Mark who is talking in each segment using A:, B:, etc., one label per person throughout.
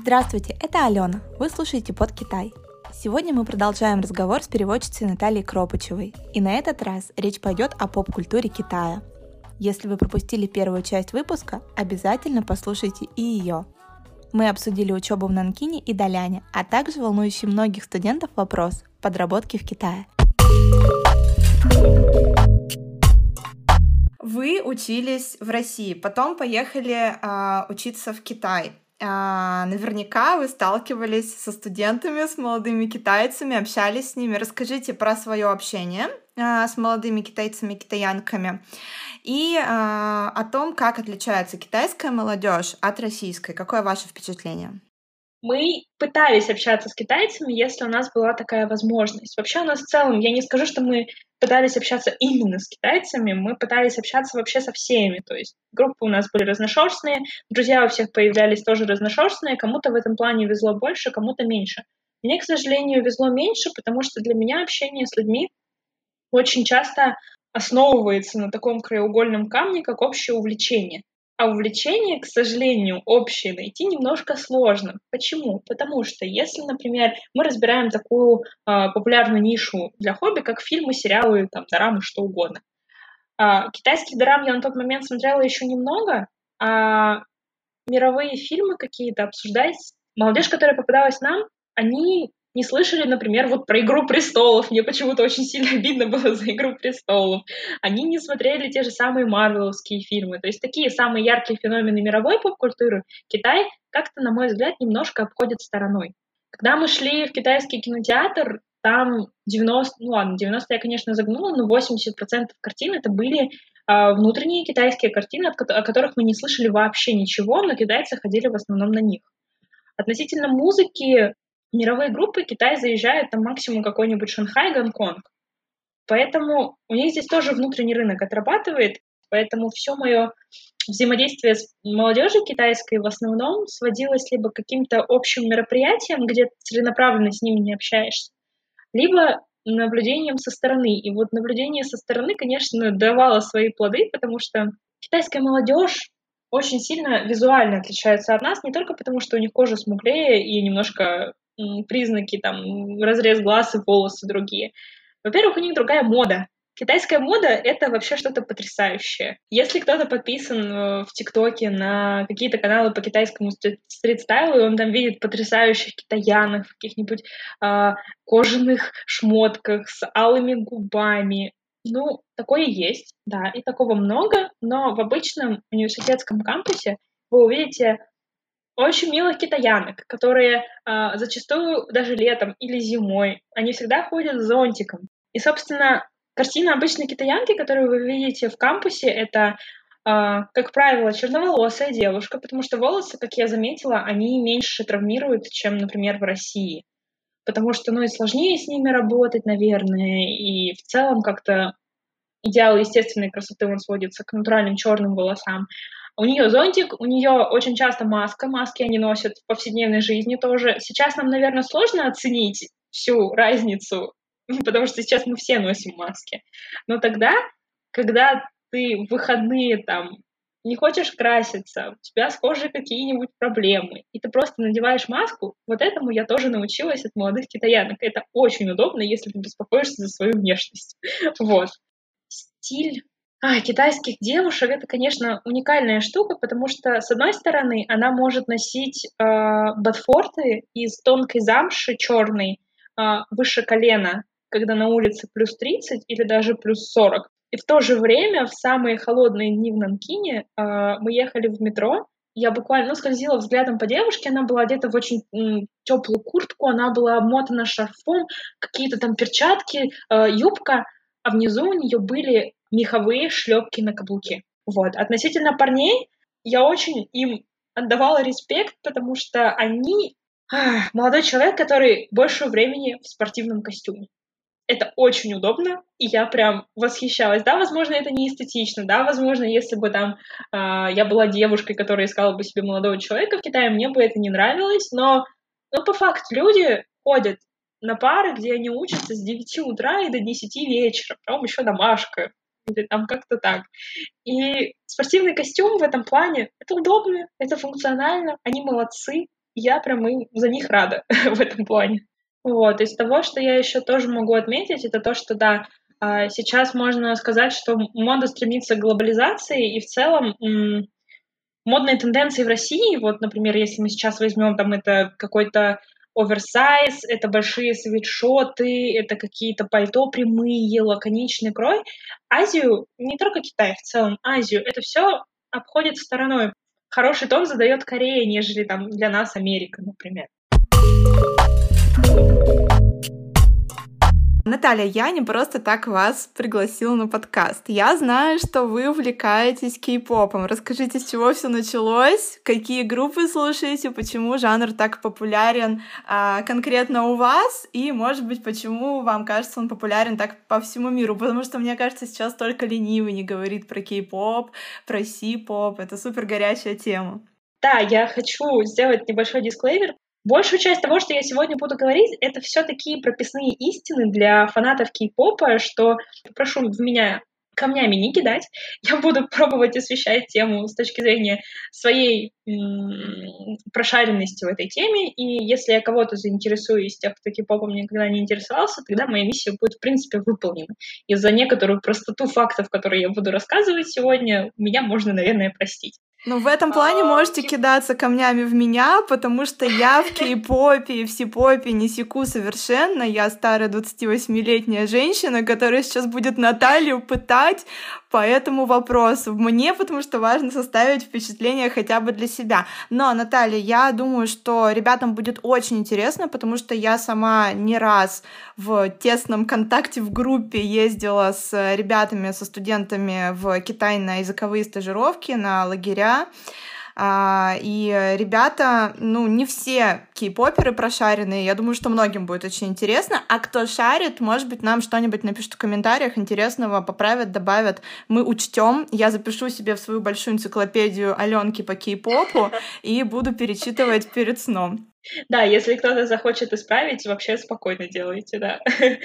A: Здравствуйте, это Алена. Вы слушаете «Под Китай». Сегодня мы продолжаем разговор с переводчицей Натальей Кропачевой. И на этот раз речь пойдет о поп-культуре Китая. Если вы пропустили первую часть выпуска, обязательно послушайте и ее. Мы обсудили учебу в Нанкине и Даляне, а также волнующий многих студентов вопрос подработки в Китае. Вы учились в России, потом поехали учиться в Китай. Наверняка вы сталкивались со студентами, с молодыми китайцами, общались с ними. Расскажите про свое общение с молодыми китайцами, китаянками и о том, как отличается китайская молодежь от российской. Какое ваше впечатление?
B: Мы пытались общаться с китайцами, если у нас была такая возможность. Вообще у нас в целом, я не скажу, что мы пытались общаться именно с китайцами, мы пытались общаться вообще со всеми. То есть группы у нас были разношерстные, друзья у всех появлялись тоже разношерстные, кому-то в этом плане везло больше, кому-то меньше. Мне, к сожалению, везло меньше, потому что для меня общение с людьми очень часто основывается на таком краеугольном камне, как общее увлечение. А увлечение, к сожалению, общее найти немножко сложно. Почему? Потому что если, например, мы разбираем такую популярную нишу для хобби, как фильмы, сериалы, там, дорамы, что угодно. Китайских дорам я на тот момент смотрела еще немного, а мировые фильмы какие-то обсуждать, молодежь, которая попадалась нам, они не слышали, например, вот про «Игру престолов». Мне почему-то очень сильно обидно было за «Игру престолов». Они не смотрели те же самые марвеловские фильмы. То есть такие самые яркие феномены мировой поп-культуры Китай как-то, на мой взгляд, немножко обходит стороной. Когда мы шли в китайский кинотеатр, там 90 я, конечно, загнула, но 80% картин это были внутренние китайские картины, о которых мы не слышали вообще ничего, но китайцы ходили в основном на них. Относительно музыки, мировые группы Китай заезжает там максимум какой-нибудь Шанхай, Гонконг. Поэтому у них здесь тоже внутренний рынок отрабатывает, поэтому все мое взаимодействие с молодежью китайской в основном сводилось либо к каким-то общим мероприятиям, где целенаправленно с ними не общаешься, либо наблюдением со стороны. И вот наблюдение со стороны, конечно, давало свои плоды, потому что китайская молодежь очень сильно визуально отличается от нас, не только потому, что у них кожа смуглее и немножко признаки, там, разрез глаз и волосы другие. Во-первых, у них другая мода. Китайская мода — это вообще что-то потрясающее. Если кто-то подписан в ТикТоке на какие-то каналы по китайскому стрит-стайлу, и он там видит потрясающих китаянок в каких-нибудь кожаных шмотках с алыми губами. Ну, такое есть, да, и такого много, но в обычном университетском кампусе вы увидите очень милых китаянок, которые зачастую даже летом или зимой, они всегда ходят с зонтиком. И, собственно, картина обычной китаянки, которую вы видите в кампусе, это, как правило, черноволосая девушка, потому что волосы, как я заметила, они меньше травмируют, чем, например, в России. Потому что, и сложнее с ними работать, наверное, и в целом как-то идеал естественной красоты, он сводится к натуральным черным волосам. У нее зонтик, у нее очень часто маска, маски они носят в повседневной жизни тоже. Сейчас нам, наверное, сложно оценить всю разницу, потому что сейчас мы все носим маски. Но тогда, когда ты в выходные там не хочешь краситься, у тебя с кожей какие-нибудь проблемы, и ты просто надеваешь маску, вот этому я тоже научилась от молодых китаянок. Это очень удобно, если ты беспокоишься за свою внешность. Вот. Стиль китайских девушек — это, конечно, уникальная штука, потому что, с одной стороны, она может носить ботфорты из тонкой замши черной выше колена, когда на улице плюс 30 или даже плюс 40. И в то же время, в самые холодные дни в Нанкине, мы ехали в метро, я буквально скользила взглядом по девушке, она была одета в очень теплую куртку, она была обмотана шарфом, какие-то там перчатки, юбка, а внизу у нее были меховые шлепки на каблуке. Вот. Относительно парней, я очень им отдавала респект, потому что они молодой человек, который больше времени в спортивном костюме. Это очень удобно, и я прям восхищалась. Да, возможно, это не эстетично, да, возможно, если бы там я была девушкой, которая искала бы себе молодого человека в Китае, мне бы это не нравилось, но по факту люди ходят на пары, где они учатся с 9 утра и до 10 вечера, потом еще домашка, или там как-то так. И спортивный костюм в этом плане — это удобно, это функционально, они молодцы. я прям за них рада в этом плане. Вот, из того, что я еще тоже могу отметить, это то, что, да, сейчас можно сказать, что мода стремится к глобализации, и в целом модные тенденции в России, вот, например, если мы сейчас возьмем, там, это какой-то оверсайз, это большие свитшоты, это какие-то пальто прямые, лаконичный крой. Азию, не только Китай, в целом Азию, это все обходит стороной. Хороший тон задает Корея, нежели там для нас Америка, например.
A: Наталья, я не просто так вас пригласила на подкаст. Я знаю, что вы увлекаетесь кей-попом. Расскажите, с чего все началось, какие группы слушаете, почему жанр так популярен конкретно у вас, и, может быть, почему вам кажется, он популярен так по всему миру. Потому что, мне кажется, сейчас только ленивый не говорит про кей-поп, про си-поп. Это супер горячая тема.
B: Да, я хочу сделать небольшой дисклеймер. Большую часть того, что я сегодня буду говорить, это все такие прописные истины для фанатов кей-попа, что прошу в меня камнями не кидать. Я буду пробовать освещать тему с точки зрения своей прошаренности в этой теме, и если я кого-то заинтересую из тех, кто кей-попом никогда не интересовался, тогда моя миссия будет, в принципе, выполнена. И за некоторую простоту фактов, которые я буду рассказывать сегодня, меня можно, наверное, простить.
A: Ну, в этом плане можете кидаться камнями в меня, потому что я в кей-попе и в си-попе не секу совершенно. Я старая 28-летняя женщина, которая сейчас будет Наталью пытать по этому вопросу. Мне, потому что важно составить впечатление хотя бы для себя. Но, Наталья, я думаю, что ребятам будет очень интересно, потому что я сама не раз в тесном контакте в группе ездила с ребятами, со студентами в Китай на языковые стажировки, на лагеря. И ребята, не все кей-поперы прошаренные. Я думаю, что многим будет очень интересно. А кто шарит, может быть, нам что-нибудь напишут в комментариях интересного, поправят, добавят. Мы учтем. Я запишу себе в свою большую энциклопедию Аленки по кей-попу и буду перечитывать перед сном.
B: Да, если кто-то захочет исправить, вообще спокойно делайте, да.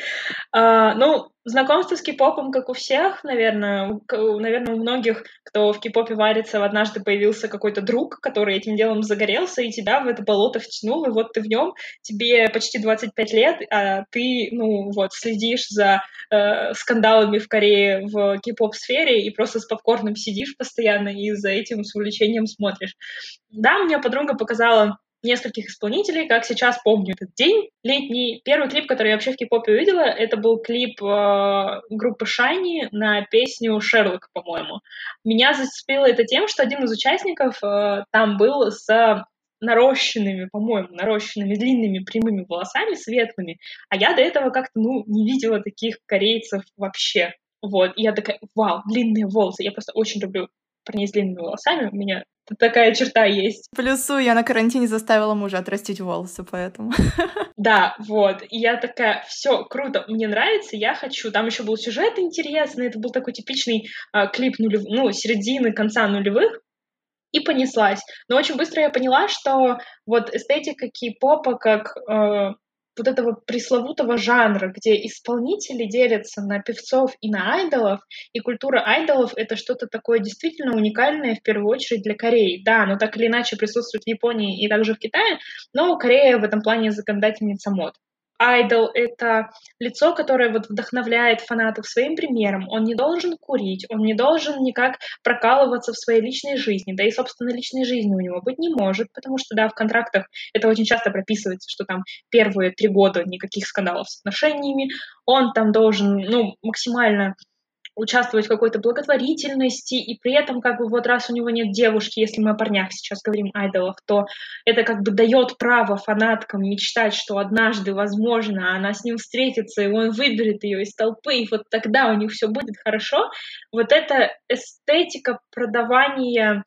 B: Знакомство с кей-попом, как у всех, наверное, у многих, кто в кей-попе варится, однажды появился какой-то друг, который этим делом загорелся, и тебя в это болото втянул, и вот ты в нем, тебе почти 25 лет, а ты, следишь за скандалами в Корее в кей-поп-сфере и просто с попкорном сидишь постоянно и за этим с увлечением смотришь. Да, мне подруга показала нескольких исполнителей, как сейчас помню этот день летний. Первый клип, который я вообще в кей-попе увидела, это был клип группы Shiny на песню «Шерлок», по-моему. Меня зацепило это тем, что один из участников там был с нарощенными длинными прямыми волосами, светлыми, а я до этого как-то, не видела таких корейцев вообще. Вот, и я такая, вау, длинные волосы. Я просто очень люблю парней с длинными волосами, у меня такая черта есть.
A: Плюсую, я на карантине заставила мужа отрастить волосы, поэтому.
B: Да, вот. И я такая, все круто, мне нравится, я хочу. Там еще был сюжет интересный, это был такой типичный клип середины, конца нулевых, и понеслась. Но очень быстро я поняла, что вот эстетика кей-попа как вот этого пресловутого жанра, где исполнители делятся на певцов и на айдолов, и культура айдолов — это что-то такое действительно уникальное, в первую очередь, для Кореи. Да, оно так или иначе присутствует в Японии и также в Китае, но Корея в этом плане законодательница мод. Айдол — это лицо, которое вот вдохновляет фанатов своим примером. Он не должен курить, он не должен никак прокалываться в своей личной жизни, да и, собственно, личной жизни у него быть не может, потому что, да, в контрактах это очень часто прописывается, что там первые 3 года никаких скандалов с отношениями, он там должен, максимально участвовать в какой-то благотворительности, и при этом, вот раз у него нет девушки, если мы о парнях сейчас говорим, айдолах, то это дает право фанаткам мечтать, что однажды, возможно, она с ним встретится, и он выберет ее из толпы, и вот тогда у них все будет хорошо. Вот эта эстетика продавания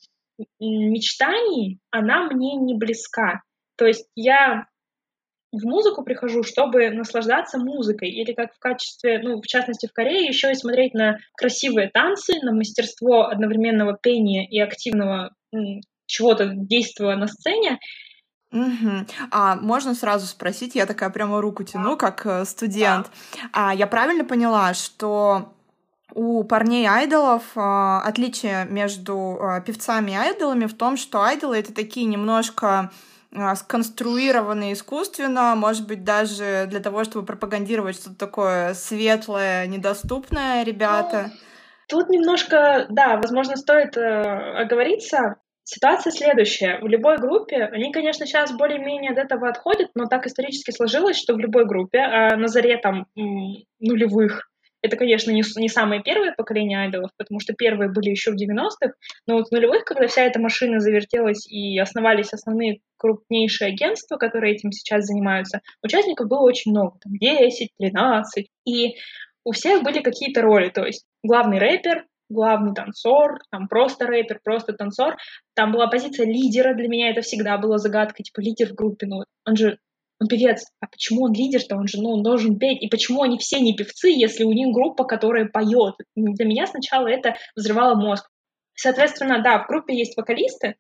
B: мечтаний, она мне не близка. То есть я в музыку прихожу, чтобы наслаждаться музыкой, или как в качестве, в частности в Корее, еще и смотреть на красивые танцы, на мастерство одновременного пения и активного чего-то действия на сцене.
A: Угу. А можно сразу спросить, я такая прямо руку тяну, как студент. Я правильно поняла, что у парней-айдолов отличие между певцами и айдолами в том, что айдолы — это такие немножко сконструированы искусственно, может быть, даже для того, чтобы пропагандировать что-то такое светлое, недоступное, ребята?
B: Тут немножко, да, возможно, стоит оговориться. Ситуация следующая. В любой группе, они, конечно, сейчас более-менее от этого отходят, но так исторически сложилось, что в любой группе, на заре там нулевых, это, конечно, не самое первое поколение айдолов, потому что первые были еще в 90-х, но вот в нулевых, когда вся эта машина завертелась и основались основные крупнейшие агентства, которые этим сейчас занимаются, участников было очень много, там 10, 13, и у всех были какие-то роли, то есть главный рэпер, главный танцор, там просто рэпер, просто танцор. Там была позиция лидера, для меня это всегда было загадкой, типа лидер в группе, ну он певец, а почему он лидер-то, он же, он должен петь, и почему они все не певцы, если у них группа, которая поет? Для меня сначала это взрывало мозг. Соответственно, да, в группе есть вокалисты,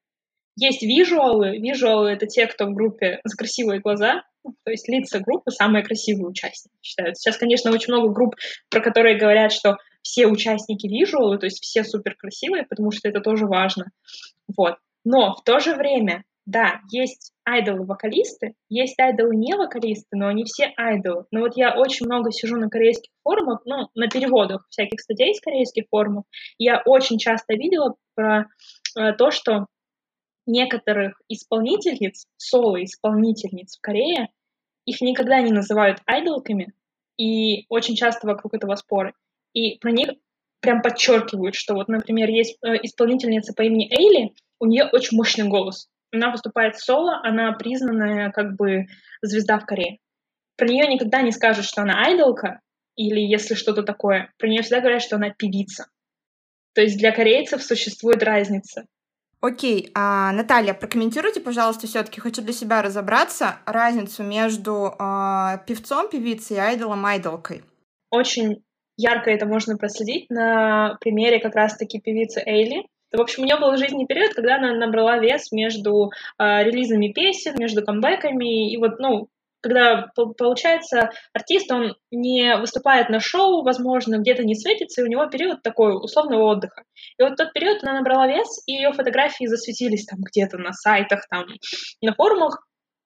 B: есть визуалы. Визуалы — это те, кто в группе за красивые глаза, то есть лица группы — самые красивые участники считаются. Сейчас, конечно, очень много групп, про которые говорят, что все участники визуалы, то есть все супер красивые, потому что это тоже важно. Вот. Но в то же время, да, есть айдолы-вокалисты, есть айдолы-не-вокалисты, но они все айдолы. Но вот я очень много сижу на корейских форумах, на переводах всяких статей с корейских форумов, и я очень часто видела про то, что некоторых исполнительниц, соло-исполнительниц в Корее, их никогда не называют айдолками, и очень часто вокруг этого споры. И про них прям подчеркивают, что вот, например, есть исполнительница по имени Эйли, у нее очень мощный голос. Она выступает соло, она признанная как бы звезда в Корее. Про нее никогда не скажут, что она айдолка, или если что-то такое. Про нее всегда говорят, что она певица. То есть для корейцев существует разница.
A: Окей, Наталья, прокомментируйте, пожалуйста, все-таки хочу для себя разобраться разницу между певцом, певицей и айдолом, айдолкой.
B: Очень ярко это можно проследить на примере как раз-таки певицы Эйли. В общем, у нее был жизненный период, когда она набрала вес между релизами песен, между камбэками, и вот, когда, получается, артист, он не выступает на шоу, возможно, где-то не светится, и у него период такой условного отдыха. И вот в тот период она набрала вес, и ее фотографии засветились там где-то на сайтах, там, на форумах,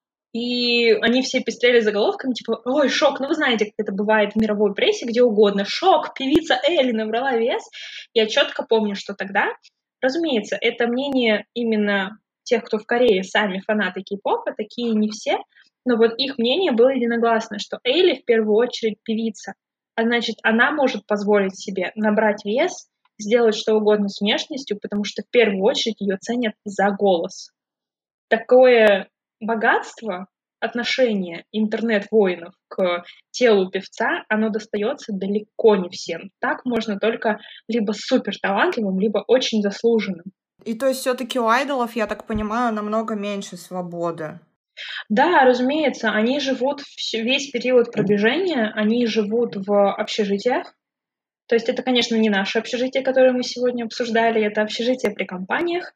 B: и они все пестрели заголовками, типа, ой, шок, вы знаете, как это бывает в мировой прессе, где угодно, шок, певица Элли набрала вес. Я четко помню, что тогда, разумеется, это мнение именно тех, кто в Корее сами фанаты кей-попа, такие не все, но вот их мнение было единогласное, что Элли в первую очередь певица, а значит, она может позволить себе набрать вес, сделать что угодно с внешностью, потому что в первую очередь ее ценят за голос. Такое богатство, отношение интернет-воинов к телу певца, оно достается далеко не всем. Так можно только либо супер талантливым, либо очень заслуженным.
A: И то есть все-таки у айдолов, я так понимаю, намного меньше свободы.
B: Да, разумеется, они живут весь период продвижения, они живут в общежитиях. То есть это, конечно, не наше общежитие, которое мы сегодня обсуждали, это общежитие при компаниях.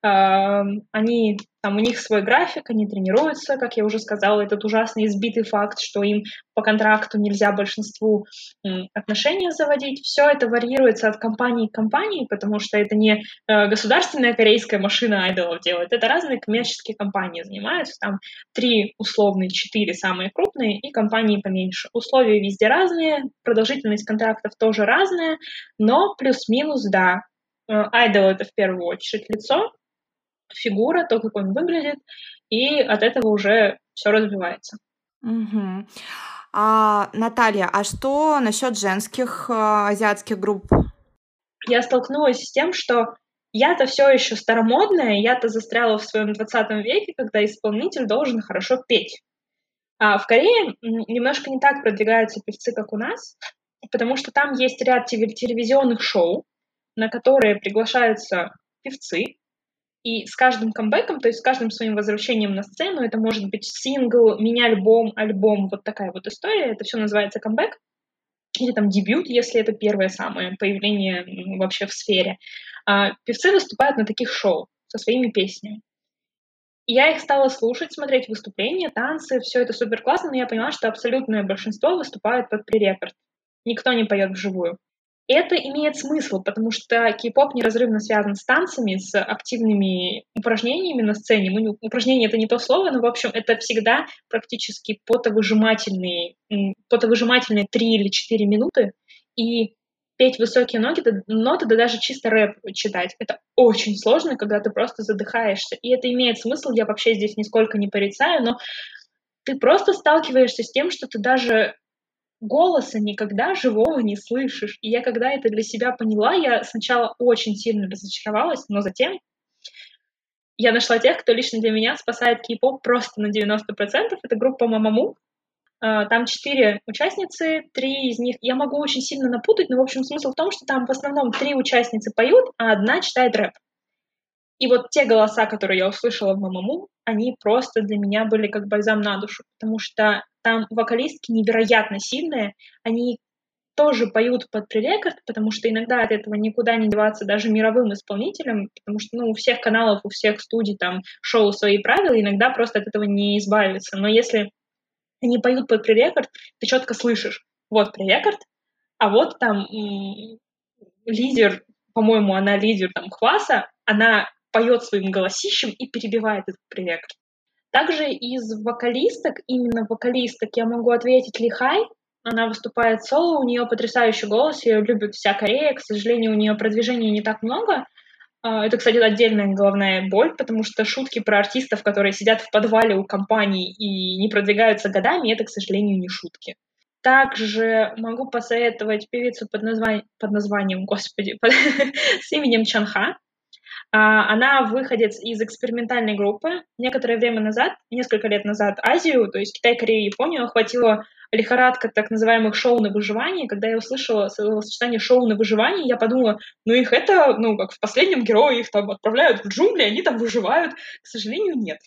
B: Они, там у них свой график, они тренируются, как я уже сказала, этот ужасный избитый факт, что им по контракту нельзя большинству отношения заводить. Все это варьируется от компании к компании, потому что это не государственная корейская машина айдолов делает, это разные коммерческие компании занимаются, там 3, условные, 4 самые крупные и компании поменьше. Условия везде разные, продолжительность контрактов тоже разная, но плюс-минус, да. Айдол — это в первую очередь лицо, фигура, то, как он выглядит, и от этого уже все развивается.
A: Угу. Наталья, а что насчет женских азиатских групп?
B: Я столкнулась с тем, что я-то все еще старомодная, я-то застряла в своем 20 веке, когда исполнитель должен хорошо петь. А в Корее немножко не так продвигаются певцы, как у нас, потому что там есть ряд телевизионных шоу, на которые приглашаются певцы, и с каждым камбэком, то есть с каждым своим возвращением на сцену, это может быть сингл, мини-альбом, альбом, вот такая вот история, это все называется камбэк, или там дебют, если это первое самое появление вообще в сфере. Певцы выступают на таких шоу со своими песнями. И я их стала слушать, смотреть выступления, танцы, все это супер классно, но я поняла, что абсолютное большинство выступают под пререкорд. Никто не поет вживую. Это имеет смысл, потому что кей-поп неразрывно связан с танцами, с активными упражнениями на сцене. Упражнения — это не то слово, но, в общем, это всегда практически потовыжимательные 3 или 4 минуты, и петь высокие ноты, да даже чисто рэп читать — это очень сложно, когда ты просто задыхаешься. И это имеет смысл, я вообще здесь нисколько не порицаю, но ты просто сталкиваешься с тем, что ты даже голоса никогда живого не слышишь. И я когда это для себя поняла, я сначала очень сильно разочаровалась, но затем я нашла тех, кто лично для меня спасает кей-поп просто на 90%. Это группа Mamamoo. Там 4 участницы, 3 из них... Я могу очень сильно напутать, но, в общем, смысл в том, что там в основном 3 участницы поют, а одна читает рэп. И вот те голоса, которые я услышала в Mamamoo, они просто для меня были как бальзам на душу, потому что там вокалистки невероятно сильные, они тоже поют под пререкорд, потому что иногда от этого никуда не деваться даже мировым исполнителям, потому что, у всех каналов, у всех студий, там, шоу свои правила, иногда просто от этого не избавиться. Но если они поют под пререкорд, ты четко слышишь, вот пререкорд, а вот там лидер, по-моему, она лидер там Хваса, она поет своим голосищем и перебивает этот пререкорд. Также из вокалисток, именно вокалисток, я могу ответить Лихай. Она выступает соло, у нее потрясающий голос, ее любит вся Корея. К сожалению, у нее продвижения не так много. Это, кстати, отдельная головная боль, потому что шутки про артистов, которые сидят в подвале у компаний и не продвигаются годами, это, к сожалению, не шутки. Также могу посоветовать певицу под названием, господи, с именем Чанха. Она выходец из экспериментальной группы. Некоторое время назад, несколько лет назад, Азию, то есть Китай, Корею, Японию, охватила лихорадка так называемых шоу на выживание. Когда я услышала сочетание шоу на выживание, я подумала, их это, как в «Последнем герое», их там отправляют в джунгли, они там выживают. К сожалению, нет.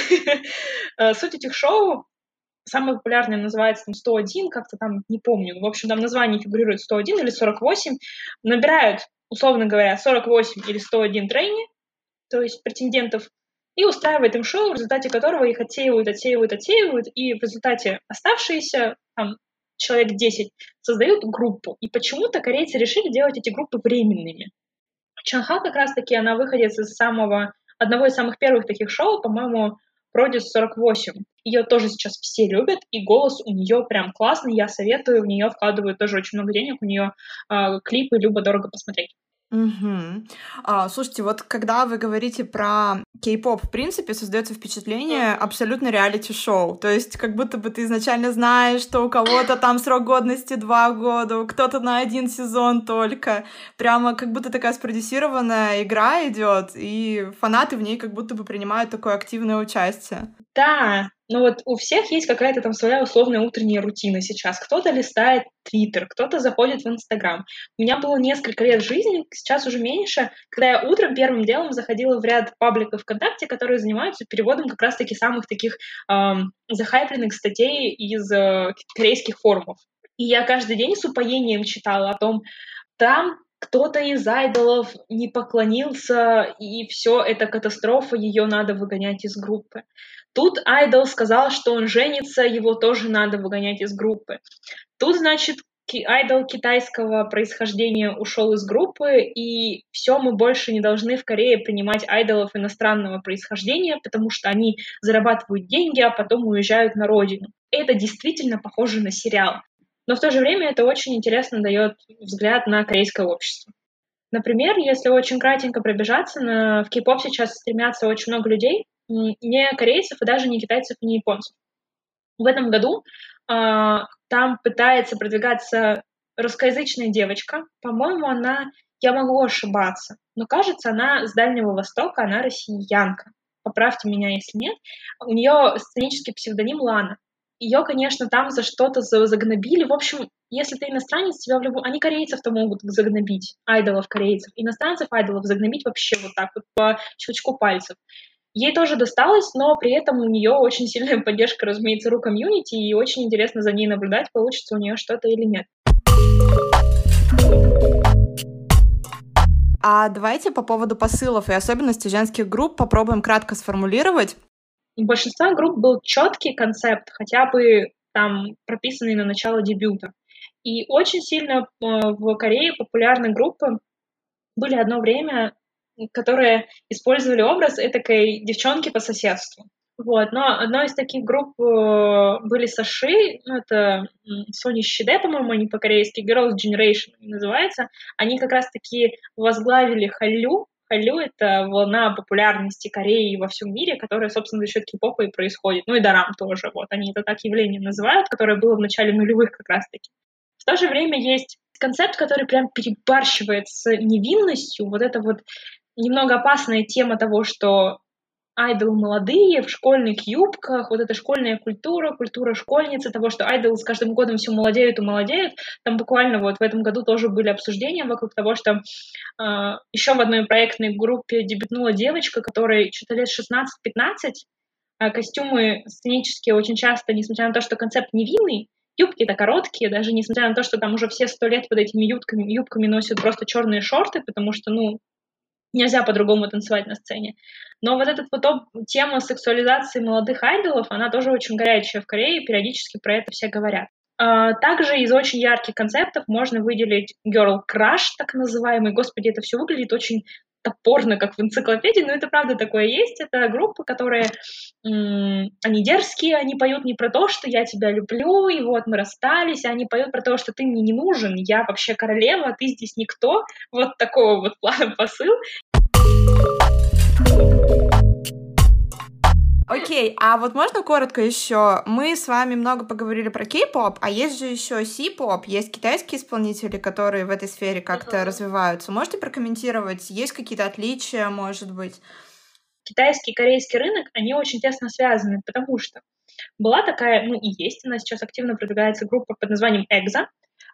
B: Суть этих шоу, самое популярное называется 101, как-то там, не помню. В общем, там название фигурирует 101 или 48. Набирают, условно говоря, 48 или 101 трейни, то есть претендентов, и устраивает им шоу, в результате которого их отсеивают, и в результате оставшиеся, там, человек 10, создают группу. И почему-то корейцы решили делать эти группы временными. Чанха как раз-таки, она выходит из одного из самых первых таких шоу, по-моему, Produce 48. Ее тоже сейчас все любят, и голос у нее прям классный, я советую, в нее вкладывают тоже очень много денег, у нее клипы любо-дорого посмотреть.
A: Угу. Слушайте, вот когда вы говорите про кей-поп, в принципе, создается впечатление абсолютно реалити-шоу. То есть как будто бы ты изначально знаешь, что у кого-то там срок годности 2 года, у кто-то на 1 сезон только. Прямо как будто такая спродюсированная игра идет, и фанаты в ней как будто бы принимают такое активное участие.
B: Да, но вот у всех есть какая-то там своя условная утренняя рутина сейчас. Кто-то листает Твиттер, кто-то заходит в Инстаграм. У меня было несколько лет жизни, сейчас уже меньше, когда я утром первым делом заходила в ряд пабликов ВКонтакте, которые занимаются переводом как раз-таки самых таких захайпленных статей из корейских форумов. И я каждый день с упоением читала о том, там кто-то из айдолов не поклонился, и все, это катастрофа, ее надо выгонять из группы. Тут айдол сказал, что он женится, его тоже надо выгонять из группы. Тут, значит, айдол китайского происхождения ушел из группы, и все, мы больше не должны в Корее принимать айдолов иностранного происхождения, потому что они зарабатывают деньги, а потом уезжают на родину. Это действительно похоже на сериал. Но в то же время это очень интересно дает взгляд на корейское общество. Например, если очень кратенько пробежаться, в кей-поп сейчас стремятся очень много людей, не корейцев, и даже не китайцев, и не японцев. В этом году там пытается продвигаться русскоязычная девочка. По-моему, я могу ошибаться, но кажется, она с Дальнего Востока, она россиянка. Поправьте меня, если нет. У нее сценический псевдоним Лана. Ее, конечно, там за что-то загнобили. В общем, если ты иностранец, тебя они корейцев-то могут загнобить, айдолов корейцев. Иностранцев айдолов загнобить вообще вот так вот по щелчку пальцев. Ей тоже досталось, но при этом у нее очень сильная поддержка, разумеется, ру-комьюнити, и очень интересно за ней наблюдать, получится у нее что-то или нет.
A: А давайте по поводу посылов и особенностей женских групп попробуем кратко сформулировать.
B: У большинства групп был четкий концепт, хотя бы там прописанный на начало дебюта. И очень сильно в Корее популярны группы. Были одно время, которые использовали образ этакой девчонки по соседству. Вот, но одной из таких групп были Саши, ну, это Сони Щиде, по-моему, они по-корейски, Girls' Generation называется. Они как раз-таки возглавили Хallyu. Хallyu — это волна популярности Кореи во всем мире, которая, собственно, за счет кей-попа и происходит. Ну и дарам тоже, вот, они это так явление называют, которое было в начале нулевых как раз-таки. В то же время есть концепт, который прям перебарщивает с невинностью. Вот это вот немного опасная тема того, что айдолы молодые, в школьных юбках, вот эта школьная культура, культура школьницы, того, что айдолы с каждым годом все молодеют и молодеют. Там буквально вот в этом году тоже были обсуждения вокруг того, что еще в одной проектной группе дебютнула девочка, которой что-то лет 16-15, а костюмы сценические очень часто, несмотря на то, что концепт невинный, юбки-то короткие, даже несмотря на то, что там уже все 100 лет под этими юбками носят просто черные шорты, потому что, ну, нельзя по-другому танцевать на сцене. Но вот эта вот тема сексуализации молодых айдолов, она тоже очень горячая в Корее, периодически про это все говорят. Также из очень ярких концептов можно выделить Girl Crush, так называемый. Господи, это все выглядит очень топорно, как в энциклопедии, но это правда такое есть. Это группы, которые, они дерзкие, они поют не про то, что я тебя люблю, и вот мы расстались, а они поют про то, что ты мне не нужен, я вообще королева, а ты здесь никто. Вот такого вот плана посыл.
A: Окей, а вот можно коротко еще? Мы с вами много поговорили про кей-поп, а есть же еще си-поп, есть китайские исполнители, которые в этой сфере как-то развиваются. Можете прокомментировать? Есть какие-то отличия, может быть?
B: Китайский и корейский рынок, они очень тесно связаны, потому что была такая, ну и есть, она сейчас активно продвигается группа под названием EXO.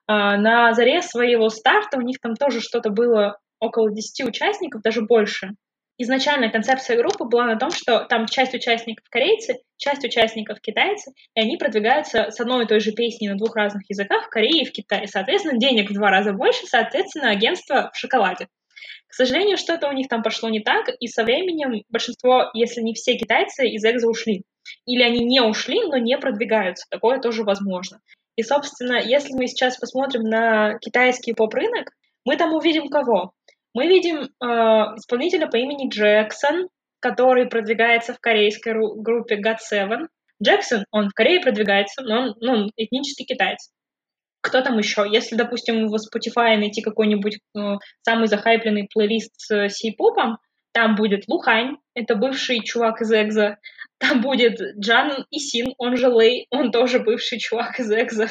B: На заре своего старта у них там тоже что-то было около 10 участников, даже больше. Изначально концепция группы была на том, что там часть участников корейцы, часть участников китайцы, и они продвигаются с одной и той же песней на двух разных языках в Корее и в Китае. Соответственно, денег в 2 раза больше, соответственно, агентство в шоколаде. К сожалению, что-то у них там пошло не так, и со временем большинство, если не все китайцы, из Экзо ушли. Или они не ушли, но не продвигаются. Такое тоже возможно. И, собственно, если мы сейчас посмотрим на китайский поп-рынок, мы там увидим кого? Мы видим исполнителя по имени Джексон, который продвигается в корейской группе GOT7. Джексон, он в Корее продвигается, но он этнический китаец. Кто там еще? Если, допустим, в Spotify найти какой-нибудь самый захайпленный плейлист с сей-попом, там будет Лухань, это бывший чувак из Экзо. Там будет Джан Исин, он же Лэй, он тоже бывший чувак из Экзо.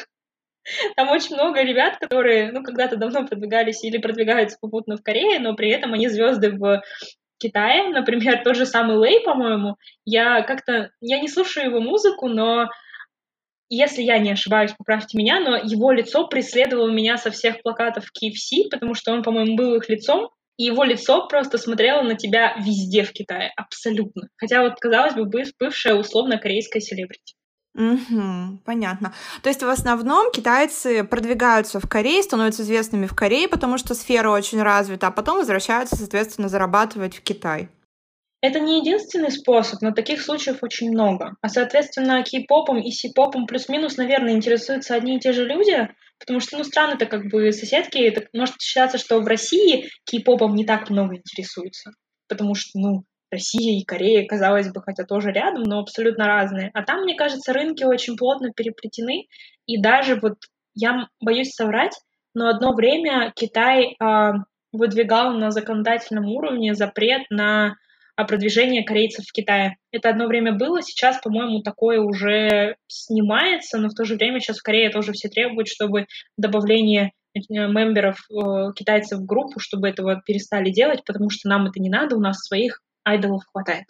B: Там очень много ребят, которые, ну, когда-то давно продвигались или продвигаются попутно в Корее, но при этом они звезды в Китае. Например, тот же самый Лэй, по-моему. Я не слушаю его музыку, но если я не ошибаюсь, поправьте меня, но его лицо преследовало меня со всех плакатов KFC, потому что он, по-моему, был их лицом, и его лицо просто смотрело на тебя везде в Китае, абсолютно. Хотя вот, казалось бы, бывшая условно-корейская селебрити.
A: Угу, понятно. То есть в основном китайцы продвигаются в Корее, становятся известными в Корее, потому что сфера очень развита, а потом возвращаются, соответственно, зарабатывать в Китай.
B: Это не единственный способ, но таких случаев очень много. А, соответственно, кей-попом и си-попом плюс-минус, наверное, интересуются одни и те же люди, потому что, ну, страны-то как бы соседки. Это может считаться, что в России кей-попом не так много интересуются, потому что, ну, Россия и Корея, казалось бы, хотя тоже рядом, но абсолютно разные. А там, мне кажется, рынки очень плотно переплетены, и даже вот, я боюсь соврать, но одно время Китай выдвигал на законодательном уровне запрет на продвижение корейцев в Китае. Это одно время было, сейчас, по-моему, такое уже снимается, но в то же время сейчас в Корее тоже все требуют, чтобы добавление мемберов китайцев в группу, чтобы этого перестали делать, потому что нам это не надо, у нас своих айдолов хватает.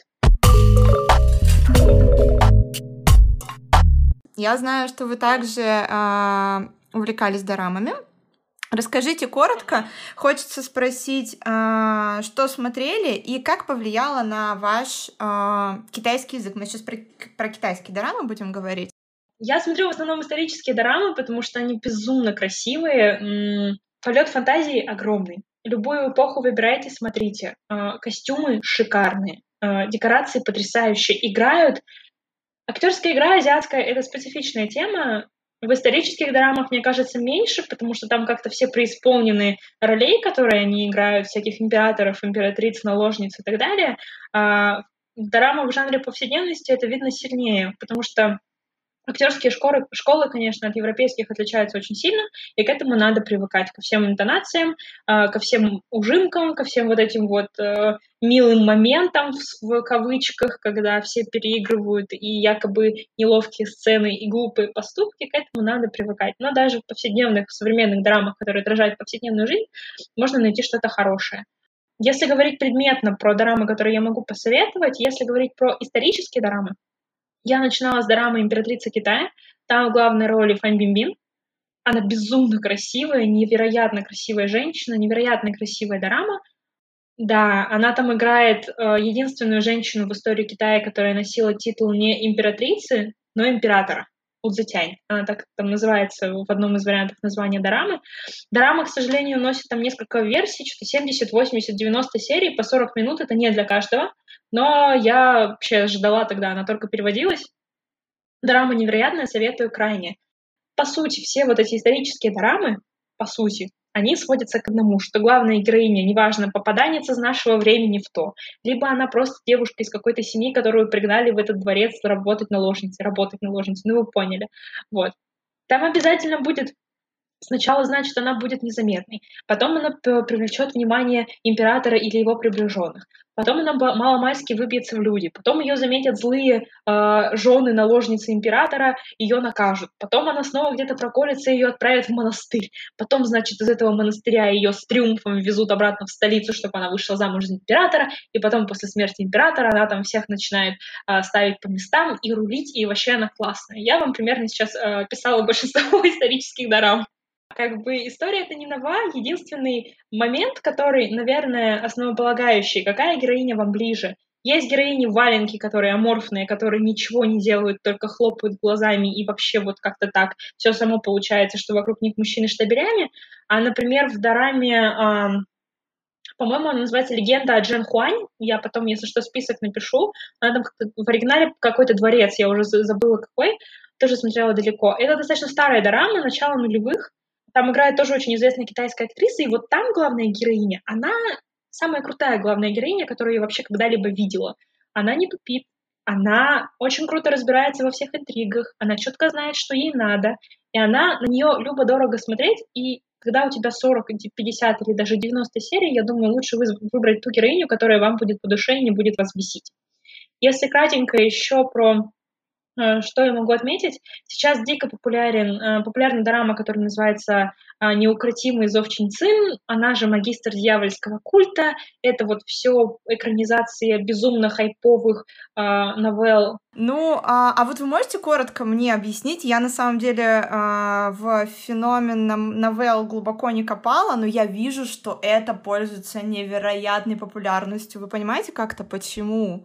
A: Я знаю, что вы также увлекались дорамами. Расскажите коротко, хочется спросить, что смотрели и как повлияло на ваш китайский язык. Мы сейчас про китайские дорамы будем говорить.
B: Я смотрю в основном исторические дорамы, потому что они безумно красивые. Полет фантазии огромный. Любую эпоху выбирайте, смотрите. Костюмы шикарные, декорации потрясающие. Играют. Актерская игра азиатская — это специфичная тема. В исторических дорамах, мне кажется, меньше, потому что там как-то все преисполнены ролей, которые они играют, всяких императоров, императриц, наложниц и так далее. А в дорамах в жанре повседневности это видно сильнее, потому что актерские школы, конечно, от европейских отличаются очень сильно, и к этому надо привыкать, ко всем интонациям, ко всем ужимкам, ко всем вот этим вот милым моментам в кавычках, когда все переигрывают и якобы неловкие сцены и глупые поступки, к этому надо привыкать. Но даже в повседневных, в современных драмах, которые отражают повседневную жизнь, можно найти что-то хорошее. Если говорить предметно про дорамы, которые я могу посоветовать, если говорить про исторические дорамы, я начинала с дорамы «Императрица Китая». Там в главной роли Фан Бинбин. Она безумно красивая, невероятно красивая женщина, невероятно красивая дорама. Да, она там играет единственную женщину в истории Китая, которая носила титул не императрицы, но императора. Удзетянь. Она так там называется в одном из вариантов названия дорамы. Дорама, к сожалению, носит там несколько версий, что-то 70, 80, 90 серий по 40 минут. Это не для каждого. Но я вообще ждала тогда, она только переводилась. Дорама невероятная, советую крайне. По сути, все вот эти исторические дорамы, по сути, они сводятся к одному, что главная героиня, неважно, попаданец из нашего времени в то, либо она просто девушка из какой-то семьи, которую пригнали в этот дворец работать наложницей, ну вы поняли. Вот. Там обязательно будет сначала, значит, она будет незаметной, потом она привлечет внимание императора или его приближенных, потом она маломальски выбьется в люди, потом ее заметят злые жены наложницы императора, ее накажут, потом она снова где-то проколется, ее отправят в монастырь, потом, значит, из этого монастыря ее с триумфом везут обратно в столицу, чтобы она вышла замуж за императора, и потом после смерти императора она там всех начинает ставить по местам и рулить, и вообще она классная. Я вам примерно сейчас писала большинство исторических дорам. Как бы история это не нова, единственный момент, который, наверное, основополагающий, какая героиня вам ближе. Есть героини валенки, которые аморфные, которые ничего не делают, только хлопают глазами и вообще вот как-то так все само получается, что вокруг них мужчины штабелями. А, например, в дораме, по-моему, она называется «Легенда о Джен Хуань». Я потом, если что, список напишу. Она там в оригинале какой-то дворец, я уже забыла какой, тоже смотрела далеко. Это достаточно старая дорама, начала нулевых. Там играет тоже очень известная китайская актриса, и вот там главная героиня, она самая крутая главная героиня, которую я вообще когда-либо видела. Она не тупит, она очень круто разбирается во всех интригах, она четко знает, что ей надо, и она на нее любо-дорого смотреть, и когда у тебя 40, 50 или даже 90 серий, я думаю, лучше выбрать ту героиню, которая вам будет по душе и не будет вас бесить. Если кратенько еще про что я могу отметить? Сейчас дико популярна дорама, которая называется «Неукротимый зов Чинь Цин», она же «Магистр дьявольского культа». Это вот все экранизация безумно хайповых новелл.
A: Ну, а вот вы можете коротко мне объяснить? Я на самом деле в феномен новелл глубоко не копала, но я вижу, что это пользуется невероятной популярностью. Вы понимаете как-то почему?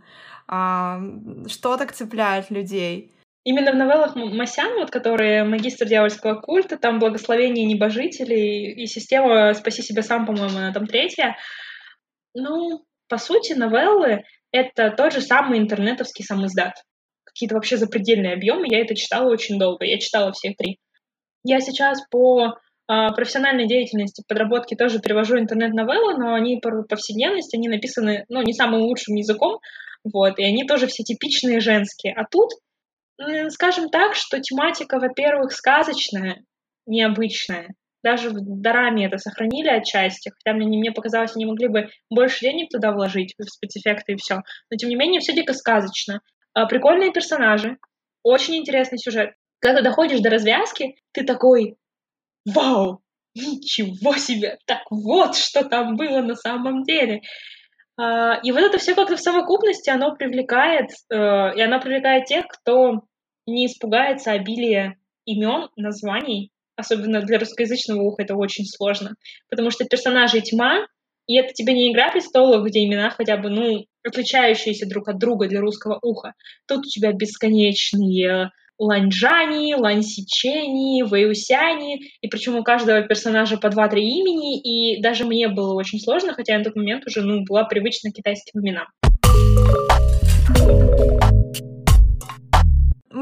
A: Что так цепляет людей?
B: Именно в новеллах Масян, вот, которые «Магистр дьявольского культа», там «Благословение небожителей» и система «Спаси себя сам», по-моему, она там третья. Ну, по сути, новеллы — это тот же самый интернетовский самиздат. Какие-то вообще запредельные объемы. Я это читала очень долго. Я читала все три. Я сейчас по профессиональной деятельности, подработке тоже перевожу интернет-новеллы, но они по повседневности, они написаны, ну, не самым лучшим языком, вот, и они тоже все типичные женские. А тут, скажем так, что тематика, во-первых, сказочная, необычная. Даже в дораме это сохранили отчасти, хотя мне показалось, они могли бы больше денег туда вложить, в спецэффекты и все. Но, тем не менее, все дико сказочно. Прикольные персонажи, очень интересный сюжет. Когда ты доходишь до развязки, ты такой: вау, ничего себе, так вот, что там было на самом деле. И вот это все как-то в совокупности, оно привлекает, и оно привлекает тех, кто не испугается обилия имен, названий, особенно для русскоязычного уха это очень сложно, потому что персонажей тьма, и это тебе не «Игра престолов», где имена хотя бы, ну, отличающиеся друг от друга для русского уха. Тут у тебя бесконечные Ланьжани, Лансичени, Вэйусяни, и причем у каждого персонажа по 2-3 имени, и даже мне было очень сложно, хотя я на тот момент уже, была привычна к китайским именам.
A: Мы говорили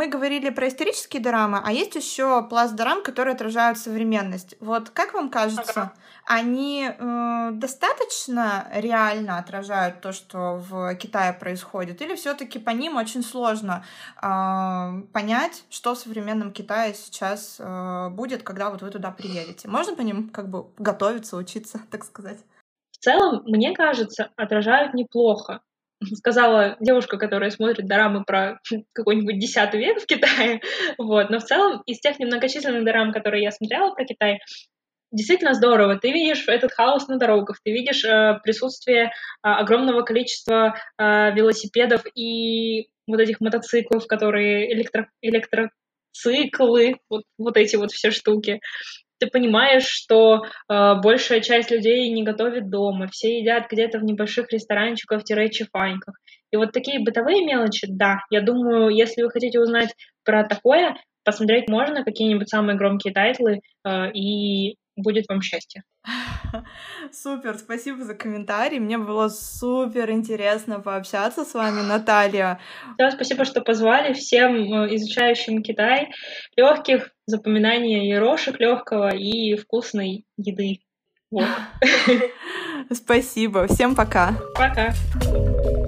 A: про исторические дорамы, а есть еще пласт дорам, которые отражают современность. Вот как вам кажется, они достаточно реально отражают то, что в Китае происходит, или все-таки по ним очень сложно понять, что в современном Китае сейчас будет, когда вот вы туда приедете? Можно по ним как бы готовиться, учиться, так сказать?
B: В целом, мне кажется, отражают неплохо. Сказала девушка, которая смотрит дорамы про какой-нибудь 10 век в Китае. Вот. Но в целом, из тех немногочисленных дорам, которые я смотрела про Китай, действительно здорово. Ты видишь этот хаос на дорогах, ты видишь присутствие огромного количества велосипедов и вот этих мотоциклов, которые электроциклы, вот эти вот все штуки. Ты понимаешь, что большая часть людей не готовит дома, все едят где-то в небольших ресторанчиках-чифаньках. И вот такие бытовые мелочи, да, я думаю, если вы хотите узнать про такое, посмотреть можно какие-нибудь самые громкие тайтлы, и будет вам счастье.
A: Супер, спасибо за комментарий. Мне было супер интересно пообщаться с вами, Наталья.
B: Да, спасибо, что позвали. Всем изучающим Китай легких запоминания иерошек, легкого и вкусной еды. Вот.
A: Спасибо. Всем пока.
B: Пока.